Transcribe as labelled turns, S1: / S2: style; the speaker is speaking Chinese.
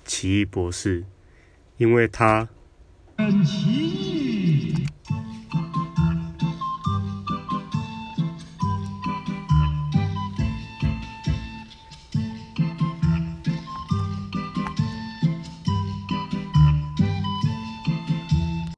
S1: 奇异博士，因为他
S2: 很奇异。